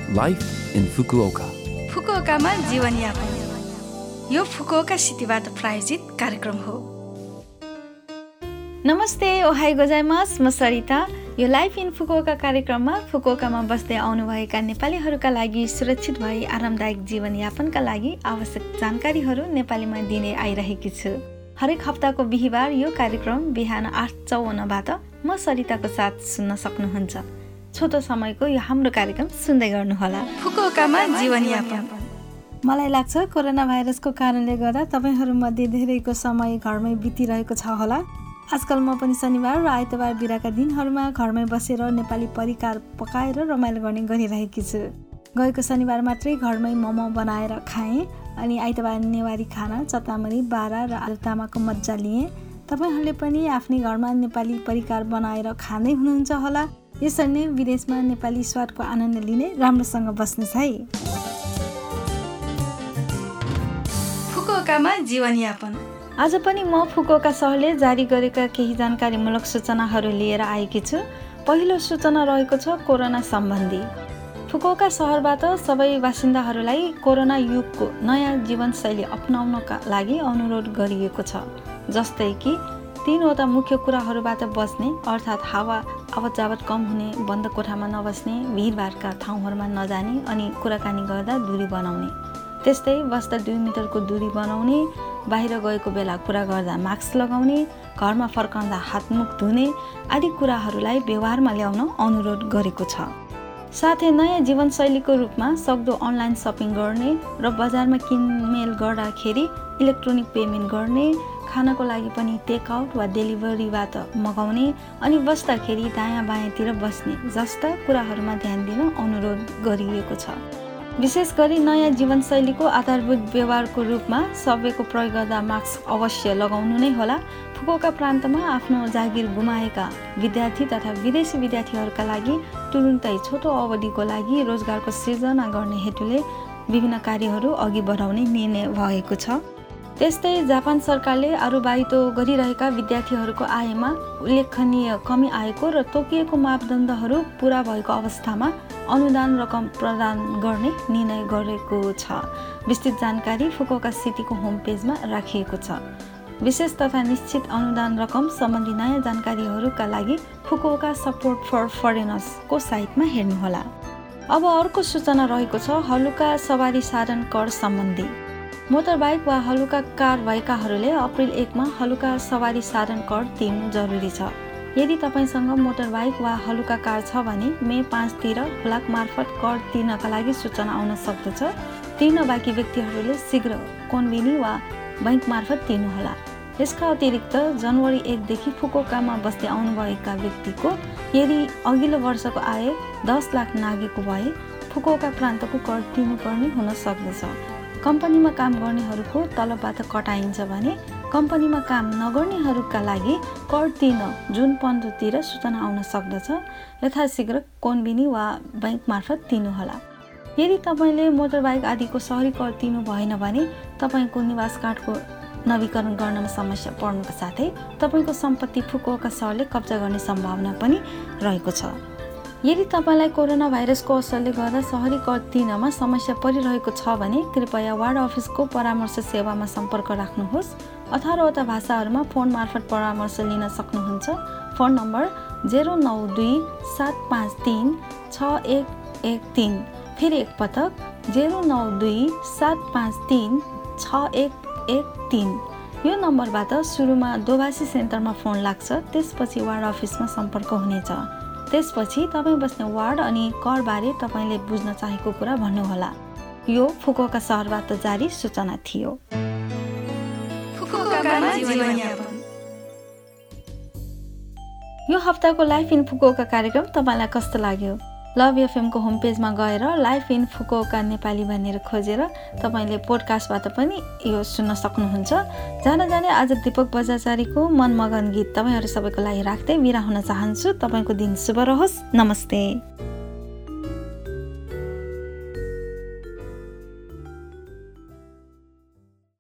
Life in Fukuoka. फुकुओकामा जीवनयापन यो Fukuoka सिटीबाट प्रायोजित कार्यक्रम हो। नमस्ते, ओहाई गोजाइमास, म सरिता। यो लाइफ इन फुकुओका कार्यक्रममा फुकुओकामा बस्दै आउनुभएका नेपालीहरूका लागि सुरक्षित भई आरामदायक जीवनयापनका लागि आवश्यक जानकारीहरू नेपालीमा दिने आइरहेकी छु। हरेक हप्ताको बिहिबार यो कार्यक्रम बिहान 8:54बाट म सरिताको साथ सुन्न सक्नुहुन्छ। छोटो समयको यो हाम्रो कार्यक्रम सुन्दै गर्नुहोला। फुकुओकामा जीवनयापन। मलाई लाग्छ कोरोना भाइरसको कारणले गर्दा तपाईहरुमध्ये धेरैको समय घरमै बितिरहेको छ होला। आजकल म पनि शनिबार र आइतबार बिराका दिनहरूमा घरमै बसेर नेपाली परिकार पकाएर रमाइलो गर्ने गरिरहेकी छु। गएको शनिबार मात्रै घरमै मोमो बनाएर खाएँ अनि आइतबार नेवारी खाना, चतामरी, बारा र आलुतामाको मज्जा लिएँ। तपाईहरुले पनि आफ्नै घरमा नेपाली परिकार बनाएर खाँदै हुनुहुन्छ होला। यसरी नै विदेशमा नेपाली स्वादको आनन्द लिने राम्रोसँग बस्नुहोस् है। फुकुओकामा जीवनयापन। आज पनि म फुकुओका सहरले जारी गरेका केही जानकारीमूलक सूचनाहरू लिएर आएकी छु। पहिलो सूचना रहेको छ कोरोना सम्बन्धी। फुकुओका सहरबाट सबै बासिन्दाहरूलाई कोरोना युगको नयाँ जीवनशैली अपनाउनका लागि अनुरोध गरिएको छ। जस्तै कि 3वटा मुख्य कुराहरूबाट बच्ने, अर्थात् हावा आवत जावत कम हुने, बन्द कोठामा नबस्ने, भिडभाडका ठाउँहरूमा नजाने अनि कुराकानी गर्दा दूरी बनाउने। त्यस्तै बस्दा 2 मिटरको दूरी बनाउने, बाहिर गएको बेला कुरा गर्दा मास्क लगाउने, घरमा फर्काउँदा हातमुख धुने आदि कुराहरूलाई व्यवहारमा ल्याउन अनुरोध गरेको छ। साथै नयाँ जीवनशैलीको रूपमा सक्दो अनलाइन सपिङ गर्ने र बजारमा किनमेल गर्दाखेरि इलेक्ट्रोनिक पेमेन्ट गर्ने, खानाको लागि पनि टेकआउट वा डेलिभरीबाट मगाउने अनि बस्दाखेरि दायाँ बायाँतिर बस्ने जस्ता कुराहरूमा ध्यान दिन अनुरोध गरिएको छ। विशेष गरी नयाँ जीवनशैलीको आधारभूत व्यवहारको रूपमा सबैको प्रयोग गर्दा मास्क अवश्य लगाउनु नै होला। फुकुओका प्रान्तमा आफ्नो जागिर गुमाएका विद्यार्थी तथा विदेशी विद्यार्थीहरूका लागि तुरुन्तै छोटो अवधिको लागि रोजगारको सृजना गर्ने हेतुले विभिन्न कार्यहरू अघि बढाउने निर्णय भएको छ। त्यस्तै जापान सरकारले अरुबाइतो गरिरहेका विद्यार्थीहरूको आयमा उल्लेखनीय कमी आएको र तोकिएको मापदण्डहरू पूरा भएको अवस्थामा अनुदान रकम प्रदान गर्ने निर्णय गरेको छ। विस्तृत जानकारी फुकुओका सिटीको होम पेजमा राखिएको छ। विशेष तथा निश्चित अनुदान रकम सम्बन्धी नयाँ जानकारीहरूका लागि फुकुओका सपोर्ट फर फरेनर्सको साइटमा हेर्नुहोला। अब अर्को सूचना रहेको छ हलुका सवारी साधन कर सम्बन्धी। मोटरबाइक वा हलुका कार भएकाहरूले अप्रिल 1मा हलुका सवारी साधन कर तिर्नु जरुरी छ। यदि तपाईसँग मोटरबाइक वा हलुका कार छ भने मे 5 तिर हुलाक मार्फत कर तिर्नका लागि सूचना आउन सक्दछ। तिर्न बाँकी व्यक्तिहरूले शीघ्र कोन्बिनी वा बैंक मार्फत तिर्नुहोला। यसका अतिरिक्त जनवरी 1 देखि फुकुओकामा बस्दै आउनुभएका व्यक्तिको यदि अघिल्लो वर्षको आय 10 लाख नागेको भए फुकुओका प्रान्तको कर तिर्नुपर्ने हुन सक्दछ। कम्पनीमा काम गर्नेहरूको तलबबाट कटाइन्छ भने कम्पनीमा काम नगर्नेहरूका लागि कर तिर्न जुन 15 तिर सूचना आउन सक्दछ। यथाशीघ्र कोन्बिनी वा बैंक मार्फत तिर्नुहोला। यदि तपाईँले मोटरबाइक आदिको सहरी कर तिर्नु भएन भने तपाईँको निवास कार्डको नवीकरण गर्नमा समस्या पर्नुका साथै तपाईँको सम्पत्ति फुकुओका सहरले कब्जा गर्ने सम्भावना पनि रहेको छ। यदि तपाईँलाई कोरोना भाइरसको असरले गर्दा सहरी कर तिर्नमा समस्या परिरहेको छ भने कृपया वार्ड अफिसको परामर्श सेवामा सम्पर्क राख्नुहोस्। 18वटा भाषाहरूमा फोन मार्फत परामर्श लिन सक्नुहुन्छ। Phone number 092-753-6113। फेरि एकपटक 092-753-6113। यो नम्बरबाट सुरुमा दोभाषी सेन्टरमा फोन लाग्छ, त्यसपछि वार्ड अफिसमा सम्पर्क हुनेछ। त्यसपछि तपाईँ बस्ने वार्ड अनि करबारे तपाईँले बुझ्न चाहेको कुरा भन्नुहोला। यो फुकुओका सहरबाट जारी सूचना थियो। यो हप्ताको लाइफ इन फुकुओका कार्यक्रम तपाईँलाई कस्तो लाग्यो? लभ एफएमको होम पेजमा गएर लाइफ इन फुकुओका नेपाली भनेर खोजेर तपाईँले पोडकास्टबाट पनि यो सुन्न सक्नुहुन्छ। जाने आज दीपक बजाचारीको मनमगन गीत तपाईँहरू सबैको लागि राख्दै बिदा हुन चाहन्छु। तपाईँको दिन शुभ रहोस्। नमस्ते।